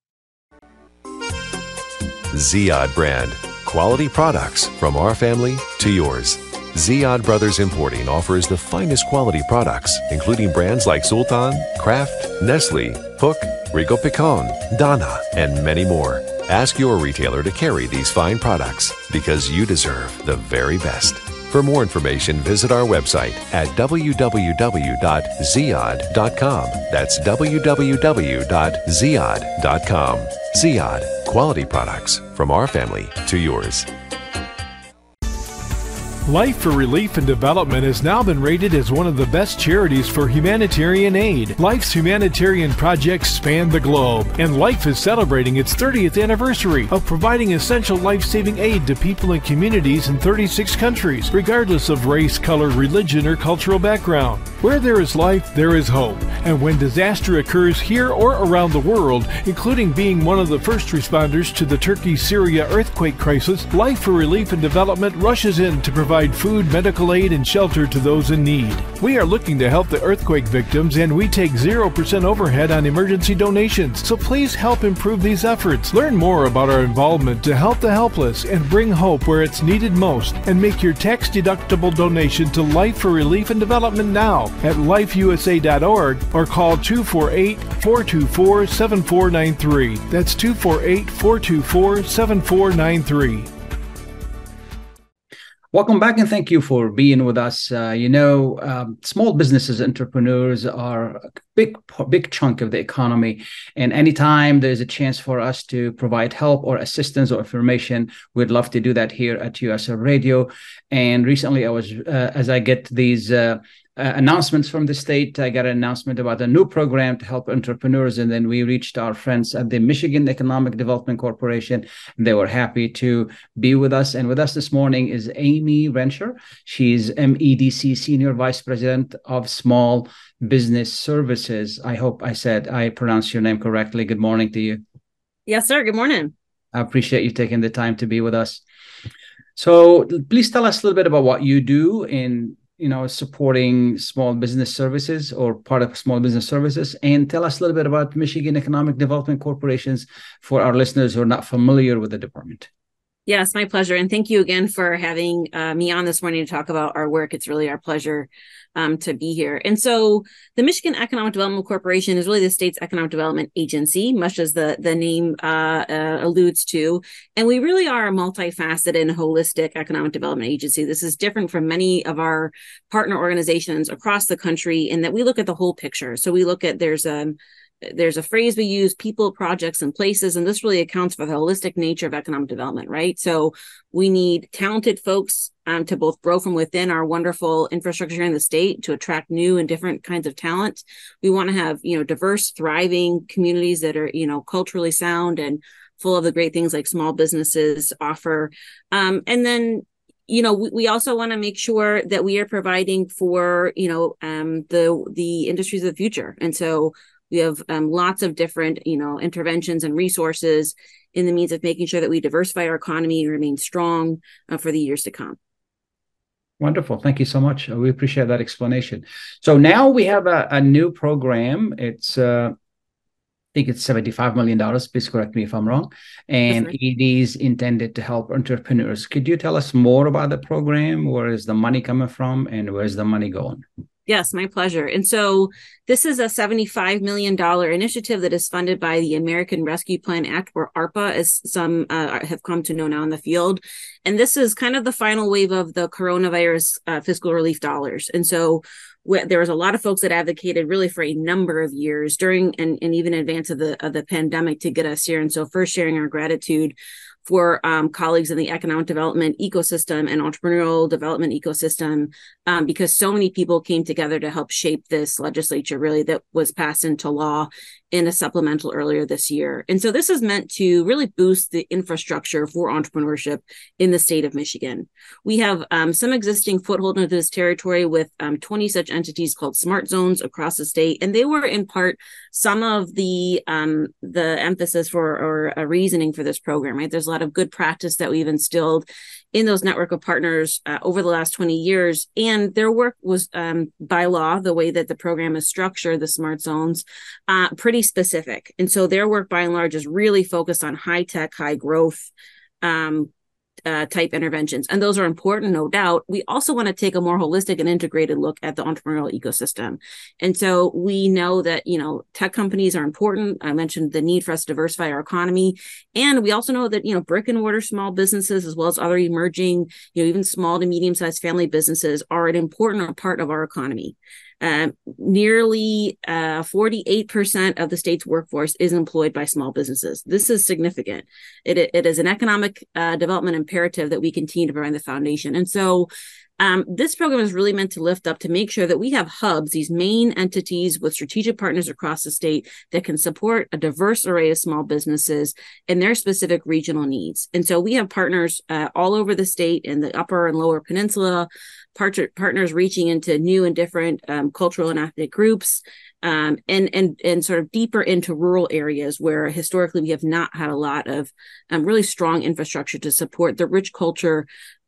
Ziyad brand. Quality products from our family to yours. Ziyad Brothers Importing offers the finest quality products, including brands like Sultan, Kraft, Nestle, Hook, Rico Picon, Donna, and many more. Ask your retailer to carry these fine products because you deserve the very best. For more information, visit our website at w w w dot ziyad dot com. That's w w w dot ziyad dot com. Ziyad, quality products from our family to yours. Life for Relief and Development has now been rated as one of the best charities for humanitarian aid. Life's humanitarian projects span the globe, and Life is celebrating its thirtieth anniversary of providing essential life-saving aid to people and communities in thirty-six countries, regardless of race, color, religion, or cultural background. Where there is life, there is hope. And when disaster occurs here or around the world, including being one of the first responders to the Turkey-Syria earthquake crisis, Life for Relief and Development rushes in to provide provide food, medical aid, and shelter to those in need. We are looking to help the earthquake victims, and we take zero percent overhead on emergency donations. So please help improve these efforts. Learn more about our involvement to help the helpless and bring hope where it's needed most, and make your tax-deductible donation to Life for Relief and Development now at life u s a dot org or call two four eight, four two four, seven four nine three. That's two four eight, four two four, seven four nine three. Welcome back, and thank you for being with us. Uh, you know, um, small businesses, entrepreneurs are a big, big chunk of the economy. And anytime there's a chance for us to provide help or assistance or information, we'd love to do that here at U S A Radio. And recently, I was, uh, as I get these uh, Uh, announcements from the state, I got an announcement about a new program to help entrepreneurs, and then we reached our friends at the Michigan Economic Development Corporation. They were happy to be with us, and with us this morning is Amy Rensher. She's M E D C Senior Vice President of Small Business Services. I hope I said I pronounced your name correctly. Good morning to you. Yes, sir. Good morning. I appreciate you taking the time to be with us. So please tell us a little bit about what you do in you know, supporting small business services or part of small business services, and tell us a little bit about Michigan Economic Development Corporations for our listeners who are not familiar with the department. Yes, my pleasure. And thank you again for having uh, me on this morning to talk about our work. It's really our pleasure um, to be here. And so the Michigan Economic Development Corporation is really the state's economic development agency, much as the, the name uh, uh, alludes to. And we really are a multifaceted and holistic economic development agency. This is different from many of our partner organizations across the country in that we look at the whole picture. So we look at there's a There's a phrase we use, people, projects, and places, and this really accounts for the holistic nature of economic development, right? So we need talented folks um, to both grow from within our wonderful infrastructure here in the state to attract new and different kinds of talent. We want to have, you know, diverse, thriving communities that are, you know, culturally sound and full of the great things like small businesses offer. Um, and then You know, we, we also want to make sure that we are providing for, you know, um, the the industries of the future. And so we have um, lots of different, you know, interventions and resources in the means of making sure that we diversify our economy and remain strong uh, for the years to come. Wonderful. Thank you so much. We appreciate that explanation. So now we have a, a new program. It's, uh, I think it's seventy-five million dollars. Please correct me if I'm wrong. And right. It is intended to help entrepreneurs. Could you tell us more about the program? Where is the money coming from and where's the money going? Yes, my pleasure. And so this is a seventy-five million dollars initiative that is funded by the American Rescue Plan Act, or ARPA, as some uh, have come to know now in the field. And this is kind of the final wave of the coronavirus uh, fiscal relief dollars. And so wh- there was a lot of folks that advocated really for a number of years during and, and even in advance of the, of the pandemic to get us here. And so first sharing our gratitude for um, colleagues in the economic development ecosystem and entrepreneurial development ecosystem, um, because so many people came together to help shape this legislature, really, that was passed into law in a supplemental earlier this year. And so this is meant to really boost the infrastructure for entrepreneurship in the state of Michigan. We have um, some existing foothold into this territory with um, twenty such entities called smart zones across the state. And they were in part some of the um, the emphasis for or a reasoning for this program, right? There's a lot of good practice that we've instilled in those network of partners uh, over the last twenty years. And their work was um, by law, the way that the program is structured, the smart zones, uh, pretty specific. And so their work by and large is really focused on high tech, high growth um, uh, type interventions. And those are important, no doubt. We also want to take a more holistic and integrated look at the entrepreneurial ecosystem. And so we know that, you know, tech companies are important. I mentioned the need for us to diversify our economy. And we also know that, you know, brick and mortar small businesses, as well as other emerging, you know, even small to medium sized family businesses are an important part of our economy. Uh, nearly uh, forty-eight percent of the state's workforce is employed by small businesses. This is significant. It, it is an economic uh, development imperative that we continue to provide the foundation. And so um, this program is really meant to lift up to make sure that we have hubs, these main entities with strategic partners across the state that can support a diverse array of small businesses and their specific regional needs. And so we have partners uh, all over the state in the upper and lower peninsula, Part- partners reaching into new and different um, cultural and ethnic groups, um, and and and sort of deeper into rural areas where historically we have not had a lot of um, really strong infrastructure to support the rich culture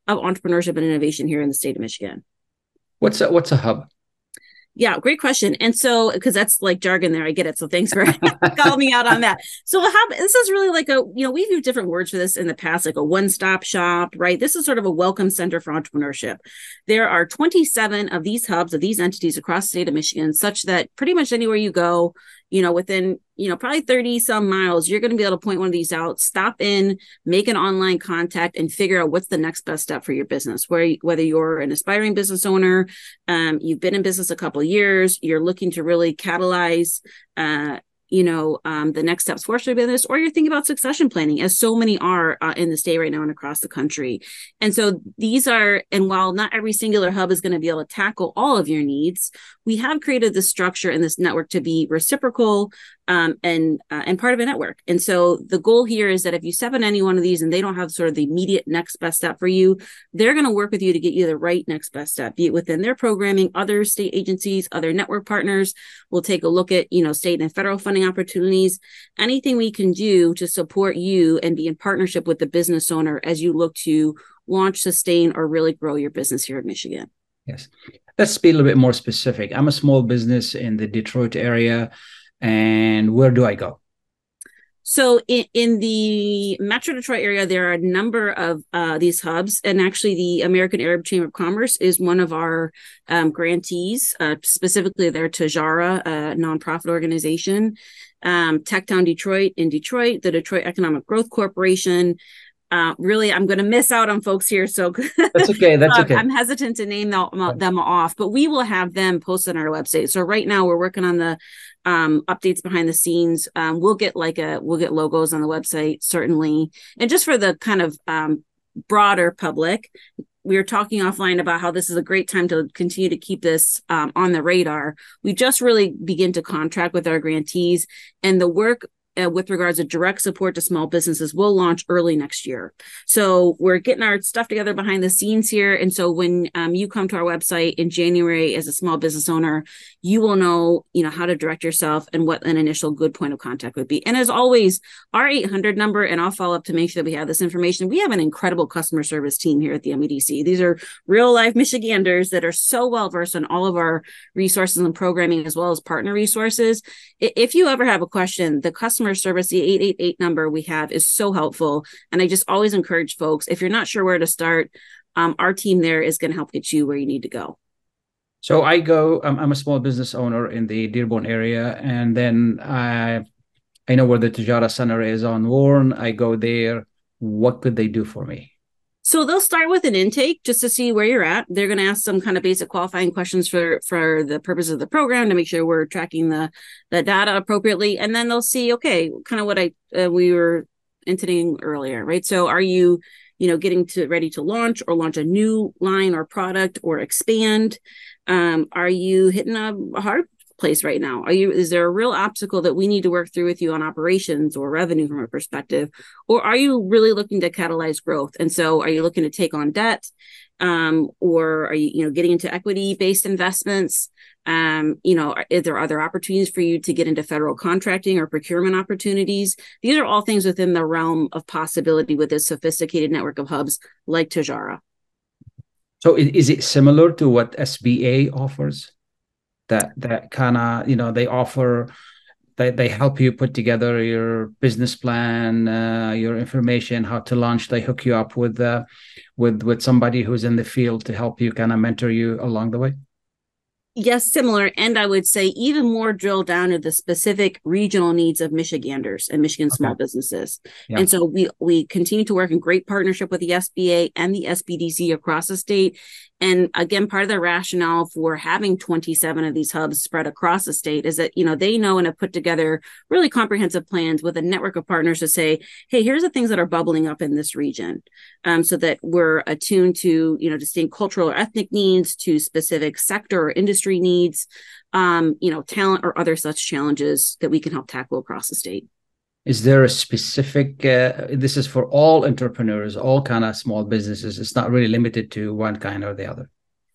of entrepreneurship and innovation here in the state of Michigan. What's a, what's a hub? Yeah, great question. And so, because that's like jargon there, I get it. So thanks for calling me out on that. So a hub, this is really like a, you know, we've used different words for this in the past, like a one-stop shop, right? This is sort of a welcome center for entrepreneurship. There are twenty-seven of these hubs, of these entities across the state of Michigan, such that pretty much anywhere you go, you know, within, you know, probably thirty some miles, you're going to be able to point one of these out, stop in, make an online contact, and figure out what's the next best step for your business. Where, whether you're an aspiring business owner, um, you've been in business a couple of years, you're looking to really catalyze, uh, you know, um, the next steps for your business, or you're thinking about succession planning, as so many are uh, in the state right now and across the country. And so these are, and while not every singular hub is going to be able to tackle all of your needs, we have created this structure and this network to be reciprocal um, and uh, and part of a network. And so the goal here is that if you step in any one of these and they don't have sort of the immediate next best step for you, they're going to work with you to get you the right next best step, be it within their programming, other state agencies, other network partners. We'll take a look at, you know, state and federal funding opportunities, anything we can do to support you and be in partnership with the business owner as you look to launch, sustain, or really grow your business here in Michigan. Yes. Let's be a little bit more specific. I'm a small business in the Detroit area, and where do I go? So in, in the Metro Detroit area, there are a number of uh, these hubs, and actually the American Arab Chamber of Commerce is one of our um, grantees, uh, specifically their Tajara, a nonprofit organization, um, Techtown Detroit in Detroit, the Detroit Economic Growth Corporation. Uh, really, I'm going to miss out on folks here, so that's okay. That's okay. I'm hesitant to name them, them off, but we will have them posted on our website. So right now, we're working on the um, updates behind the scenes. Um, we'll get like a we'll get logos on the website certainly, and just for the kind of um, broader public, we were talking offline about how this is a great time to continue to keep this um, on the radar. We just really begin to contract with our grantees, and the work Uh, with regards to direct support to small businesses will launch early next year. So we're getting our stuff together behind the scenes here. And so when um, you come to our website in January as a small business owner, you will know, you know, how to direct yourself and what an initial good point of contact would be. And as always, our eight hundred number, and I'll follow up to make sure that we have this information. We have an incredible customer service team here at the M E D C. These are real life Michiganders that are so well versed on all of our resources and programming, as well as partner resources. If you ever have a question, the customer service, the eight eight eight number we have is so helpful. And I just always encourage folks, if you're not sure where to start, um, our team there is going to help get you where you need to go. So I go, um, I'm a small business owner in the Dearborn area, and then I, I know where the Tajara Center is on Warren. I go there. What could they do for me? So they'll start with an intake just to see where you're at. They're going to ask some kind of basic qualifying questions for, for the purpose of the program to make sure we're tracking the, the data appropriately. And then they'll see, okay, kind of what I uh, we were intimating earlier, right? So are you, you know, getting to ready to launch or launch a new line or product or expand? Um, are you hitting a, a hard place right now? Are you, is there a real obstacle that we need to work through with you on operations or revenue from a perspective? Or are you really looking to catalyze growth? And so are you looking to take on debt? Um, or are you, you know, getting into equity-based investments? Um, you know, are, is there other opportunities for you to get into federal contracting or procurement opportunities? These are all things within the realm of possibility with this sophisticated network of hubs like Tajara. So is it similar to what S B A offers? That that kind of, you know, they offer, they, they help you put together your business plan, uh, your information, how to launch. They hook you up with uh, with with somebody who's in the field to help you, kind of mentor you along the way. Yes, similar. And I would say even more drill down to the specific regional needs of Michiganders and Michigan okay. small businesses. Yeah. And so we we continue to work in great partnership with the S B A and the S B D C across the state. And again, part of the rationale for having twenty-seven of these hubs spread across the state is that, you know, they know and have put together really comprehensive plans with a network of partners to say, hey, here's the things that are bubbling up in this region, um, so that we're attuned to, you know, distinct cultural or ethnic needs, to specific sector or industry needs, um, you know, talent or other such challenges that we can help tackle across the state. Is there a specific, uh, this is for all entrepreneurs, all kind of small businesses. It's not really limited to one kind or the other.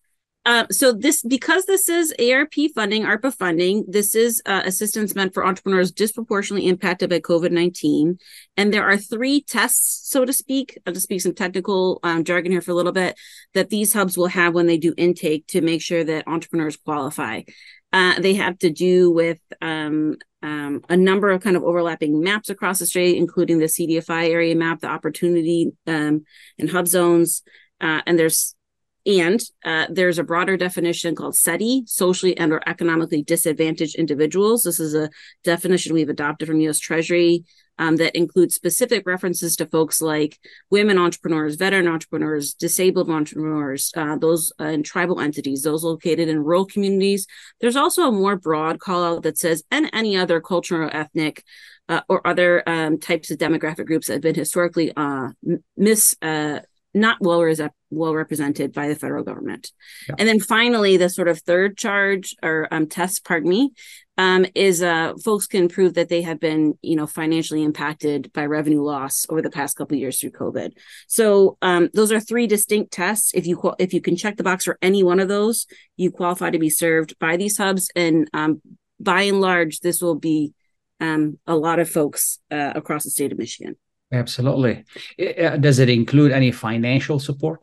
Uh, so this, because this is A R P funding, ARPA funding, this is uh, assistance meant for entrepreneurs disproportionately impacted by COVID nineteen. And there are three tests, so to speak, I'll just speak some technical um, jargon here for a little bit, that these hubs will have when they do intake to make sure that entrepreneurs qualify. Uh, they have to do with um, um, a number of kind of overlapping maps across the state, including the C D F I area map, the opportunity um, and hub zones. Uh, and there's And uh, there's a broader definition called SETI, socially and or economically disadvantaged individuals. This is a definition we've adopted from U S Treasury um, that includes specific references to folks like women entrepreneurs, veteran entrepreneurs, disabled entrepreneurs, uh, those uh, in tribal entities, those located in rural communities. There's also a more broad call out that says, and any other cultural, ethnic, uh, or other um, types of demographic groups that have been historically uh, mis uh, not well, res- well represented by the federal government. Yeah. And then finally, the sort of third charge or um, test, pardon me, um, is uh, folks can prove that they have been, you know, financially impacted by revenue loss over the past couple of years through COVID. So um, those are three distinct tests. If you if you can check the box for any one of those, you qualify to be served by these hubs. And um, by and large, this will be um, a lot of folks uh, across the state of Michigan. Absolutely. Does it include any financial support?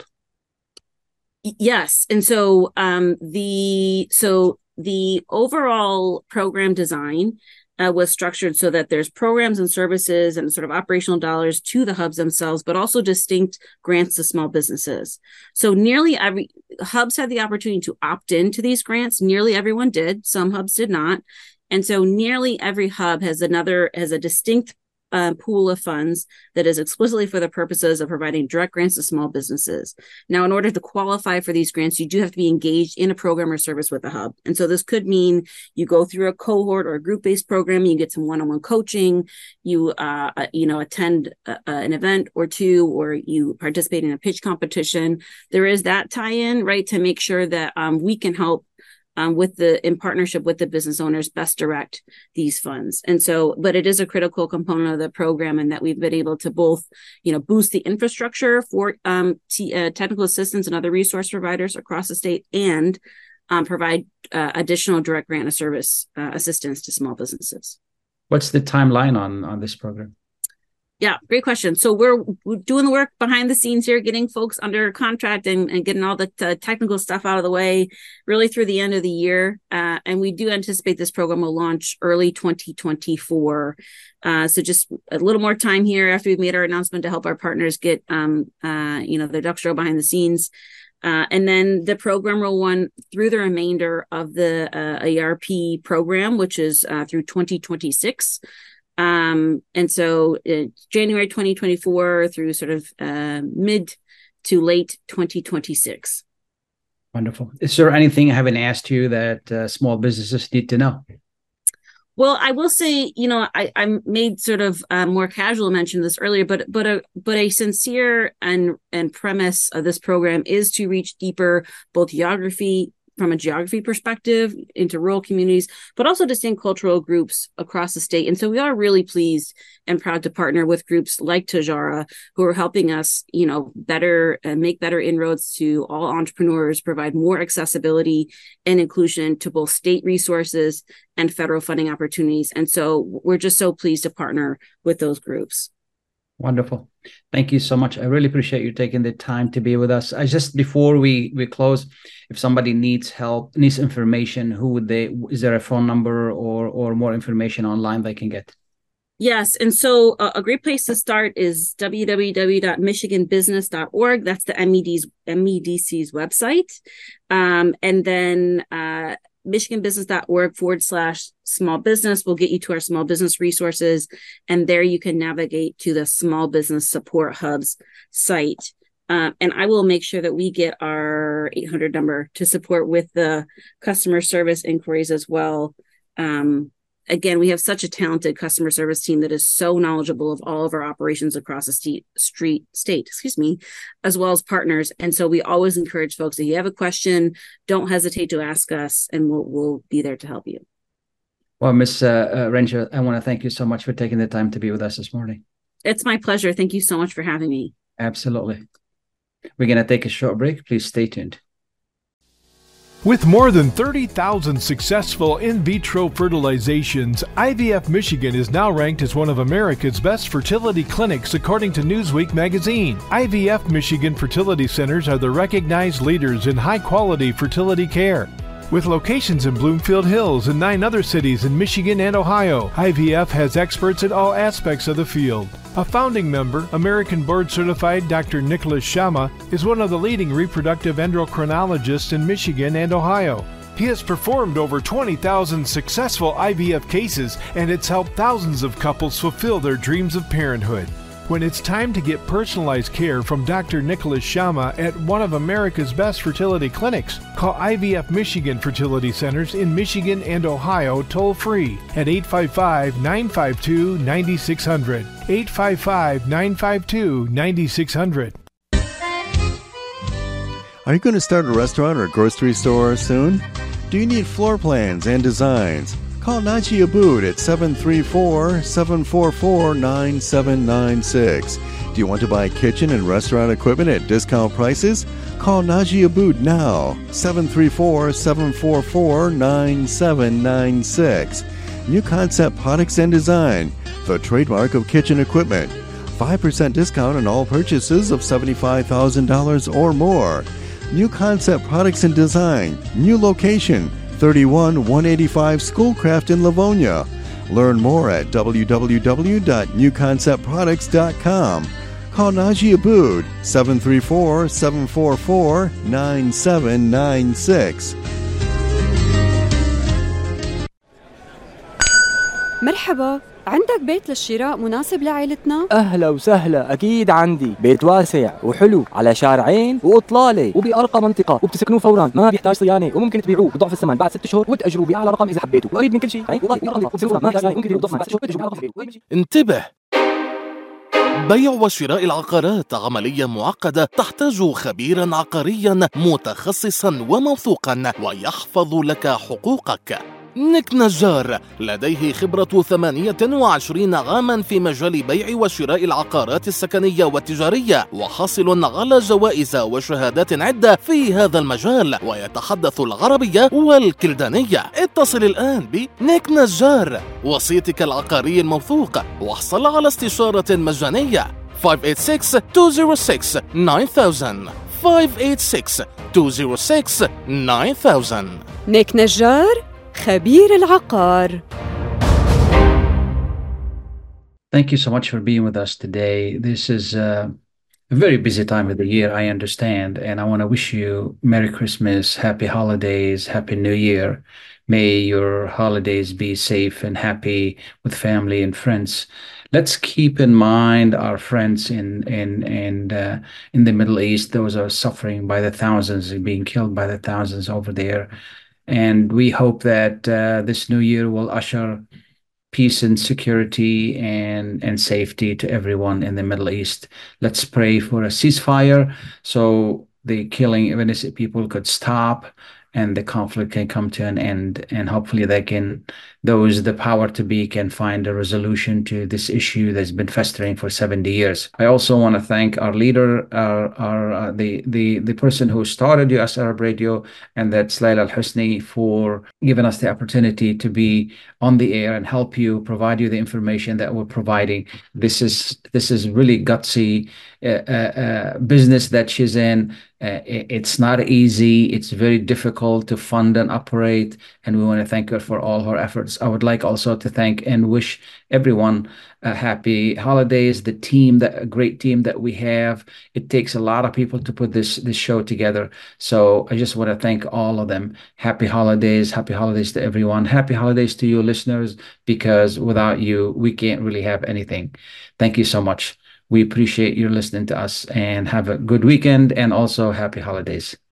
Yes. And so um, the so the overall program design uh, was structured so that there's programs and services and sort of operational dollars to the hubs themselves, but also distinct grants to small businesses. So nearly every hubs had the opportunity to opt into these grants. Nearly everyone did. Some hubs did not. And so nearly every hub has another has a distinct Uh, pool of funds that is explicitly for the purposes of providing direct grants to small businesses. Now, in order to qualify for these grants, you do have to be engaged in a program or service with a hub. And so this could mean you go through a cohort or a group-based program, you get some one-on-one coaching, you uh, uh, you know, attend a, uh, an event or two, or you participate in a pitch competition. There is that tie-in, right, to make sure that um, we can help Um, with the in partnership with the business owners best direct these funds. And so, but it is a critical component of the program, and that we've been able to both, you know, boost the infrastructure for um, t- uh, technical assistance and other resource providers across the state, and um, provide uh, additional direct grant of service uh, assistance to small businesses. What's the timeline on on this program? Yeah, great question. So we're, we're doing the work behind the scenes here, getting folks under contract and, and getting all the t- technical stuff out of the way, really through the end of the year. Uh, and we do anticipate this program will launch early twenty twenty-four. Uh, so just a little more time here after we've made our announcement to help our partners get, um, uh, you know, their ducks rolled behind the scenes. Uh, and then the program will run through the remainder of the uh, A R P program, which is uh, through twenty twenty-six. Um, and so uh, January twenty twenty-four through sort of uh, mid to late twenty twenty-six. Wonderful. Is there anything I haven't asked you that uh, small businesses need to know? Well, I will say, you know, I, I made sort of a more casual mention of this earlier, but but a but a sincere and and premise of this program is to reach deeper, both geography. from a geography perspective into rural communities, but also distinct cultural groups across the state. And so we are really pleased and proud to partner with groups like Tajara, who are helping us, you know, better uh, make better inroads to all entrepreneurs, provide more accessibility and inclusion to both state resources and federal funding opportunities. And so we're just so pleased to partner with those groups. Wonderful. Thank you so much. I really appreciate you taking the time to be with us. I just, before we, we close, if somebody needs help, needs information, who would they, is there a phone number or, or more information online they can get? Yes. And so uh, a great place to start is w w w dot michigan business dot org. That's the M E D's, M E D C's website. Um, and then uh, michiganbusiness.org forward slash small business will get you to our small business resources. And there you can navigate to the Small Business Support Hub's site. Um, and I will make sure that we get our eight hundred number to support with the customer service inquiries as well. Um, again, we have such a talented customer service team that is so knowledgeable of all of our operations across the state, street, state, excuse me, as well as partners. And so we always encourage folks, if you have a question, don't hesitate to ask us, and we'll we'll be there to help you. Well, Miz Uh, uh, Ranger, I want to thank you so much for taking the time to be with us this morning. It's my pleasure. Thank you so much for having me. Absolutely. We're going to take a short break. Please stay tuned. With more than thirty thousand successful in vitro fertilizations, I V F Michigan is now ranked as one of America's best fertility clinics according to Newsweek magazine. I V F Michigan fertility centers are the recognized leaders in high-quality fertility care. With locations in Bloomfield Hills and nine other cities in Michigan and Ohio, I V F has experts in all aspects of the field. A founding member, American board-certified Doctor Nicholas Shama, is one of the leading reproductive endocrinologists in Michigan and Ohio. He has performed over twenty thousand successful I V F cases, and it's helped thousands of couples fulfill their dreams of parenthood. When it's time to get personalized care from Doctor Nicholas Shama at one of America's best fertility clinics, call I V F Michigan Fertility Centers in Michigan and Ohio toll-free at eight five five, nine five two, nine six zero zero, eight five five, nine five two, nine six zero zero. Are you going to start a restaurant or grocery store soon? Do you need floor plans and designs? Call Naji Abood at seven three four, seven four four, nine seven nine six. Do you want to buy kitchen and restaurant equipment at discount prices? Call Naji Abood now, seven three four, seven four four, nine seven nine six. New Concept Products and Design, the trademark of kitchen equipment. five percent discount on all purchases of seventy-five thousand dollars or more. New Concept Products and Design, new location, thirty-one one eighty-five Schoolcraft in Livonia. Learn more at w w w dot new concept products dot com. Call Naji Abood, seven three four, seven four four, nine seven nine six. مرحبا، عندك بيت للشراء مناسب لعائلتنا؟ أهلا وسهلا، أكيد عندي بيت واسع وحلو على شارعين وإطلالة وبأرقى منطقة وبتسكنوه فورا، ما بيحتاج صيانة وممكن تبيعوه بضعف الثمن بعد ست شهور وتأجروه بأعلى رقم إذا حبيتوا، وقريب من كل شيء. انتبه، بيع وشراء العقارات عملية معقدة تحتاج خبيرا عقاريا متخصصا وموثوقا ويحفظ لك حقوقك. نيك نجار لديه خبرة ثمانية وعشرين عاما في مجال بيع وشراء العقارات السكنية والتجارية، وحاصل على جوائز وشهادات عدة في هذا المجال، ويتحدث العربية والكلدانية. اتصل الآن بنيك نجار وسيطك العقاري الموثوق واحصل على استشارة مجانية. خمسة ثمانية ستة، اثنين صفر ستة، تسعة ألف خمسة ثمانية ستة، اثنين صفر ستة، تسعة ألف. نيك نجار، خبير العقار. Thank you so much for being with us today. This is uh, a very busy time of the year, I understand, and I want to wish you Merry Christmas, Happy Holidays, Happy New Year. May your holidays be safe and happy with family and friends. Let's keep in mind our friends in in in uh, in the Middle East. Those are suffering by the thousands and being killed by the thousands over there. And we hope that uh, this new year will usher peace and security and, and safety to everyone in the Middle East. Let's pray for a ceasefire so the killing of innocent people could stop and the conflict can come to an end. And hopefully they can, those the power to be can find a resolution to this issue that's been festering for seventy years. I also want to thank our leader, our, our uh, the, the, the person who started U S Arab Radio, and that's Layla Al-Husni, for giving us the opportunity to be on the air and help you, provide you the information that we're providing. This is, this is really gutsy uh, uh, uh, business that she's in. Uh, it's not easy. It's very difficult to fund and operate, and we want to thank her for all her efforts. I would like also to thank and wish everyone a happy holidays. The team, that a great team that we have. It takes a lot of people to put this this show together. So I just want to thank all of them. Happy holidays. Happy holidays to everyone. Happy holidays to you listeners, because without you, we can't really have anything. Thank you so much. We appreciate you listening to us, and have a good weekend and also happy holidays.